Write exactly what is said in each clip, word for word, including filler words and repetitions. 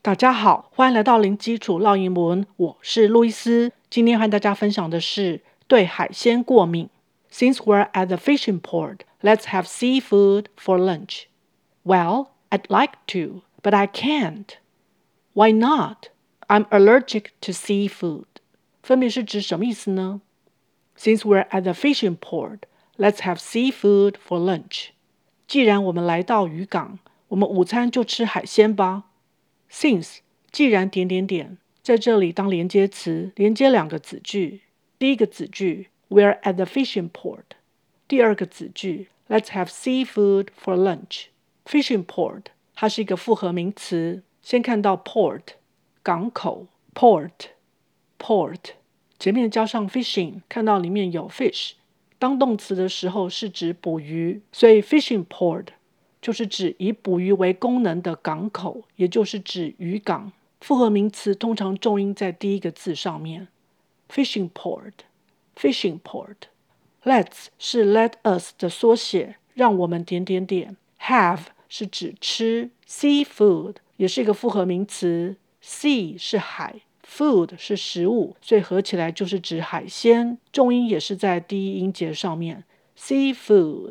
大家好，歡迎來到零基礎烙英文，我是路易斯。今天和大家分享的是對海鮮過敏。Since we're at the fishing port, let's have seafood for lunch. Well, I'd like to, but I can't. Why not? I'm allergic to seafood. 分別是指什麼意思呢？ Since we're at the fishing port, let's have seafood for lunch. 既然我們來到漁港，我們午餐就吃海鮮吧。Since 既然點點點，在這裡當連接詞，連接兩個子句。第一個子句 We're at the fishing port。第二個子句 Let's have seafood for lunch。Fishing port 它是一個複合名詞，先看到 port 港口 port port 前面加上 fishing， 看到裡面有 fish。當動詞的時候是指捕魚，所以 fishing port就是指以捕魚為功能的港口，也就是指漁港。複合名詞通常重音在第一個字上面。Fishing port, fishing port. Let's 是 let us 的縮寫，讓我們點點點。Have 是指吃。Seafood 也是一個複合名詞。Sea 是海， food 是食物，所以合起來就是指海鮮。重音也是在第一音節上面。Seafood,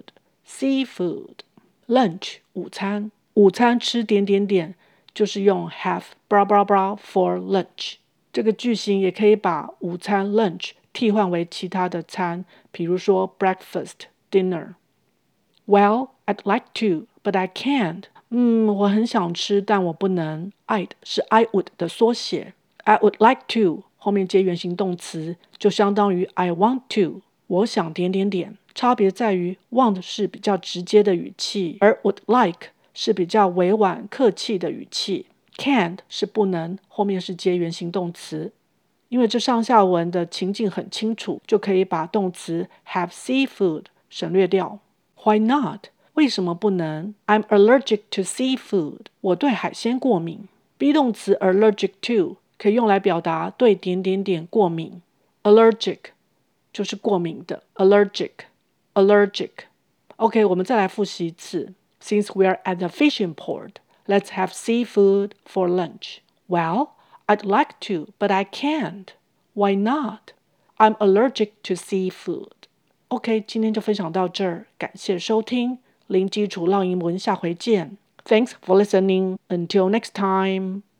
seafood.Lunch 午餐，午餐吃點點點，就是用 have blah blah blah for lunch。這個句型也可以把午餐 lunch 替換為其他的餐，比如說 breakfast dinner。Well, I'd like to, but I can't。嗯，我很想吃，但我不能。I'd 是 I would 的縮寫。I would like to 後面接原形動詞，就相當於 I want to。我想點點點。差別在於 want 是比較直接的語氣，而 would like 是比較委婉客氣的語氣。Can't 是不能，後面是接原形動詞。因為這上下文的情境很清楚，就可以把動詞 have seafood 省略掉。Why not? 為什麼不能？ I'm allergic to seafood. 我對海鮮過敏。be 動詞 allergic to 可以用來表達對點點點過敏。Allergic 就是過敏的 allergic。Allergic. OK, 我們再來複習一次。Since we're at the fishing port, let's have seafood for lunch. Well, I'd like to, but I can't. Why not? I'm allergic to seafood. OK, 今天就分享到這兒，感謝收聽，零基礎烙英文，下回見。Thanks for listening. Until next time.